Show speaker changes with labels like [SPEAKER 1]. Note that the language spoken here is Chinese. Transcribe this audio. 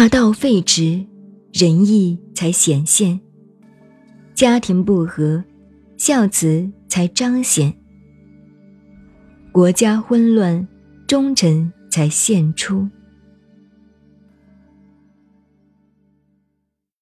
[SPEAKER 1] 大道废弛，仁义才显现；家庭不和，孝慈才彰显；国家混乱，忠臣才现出。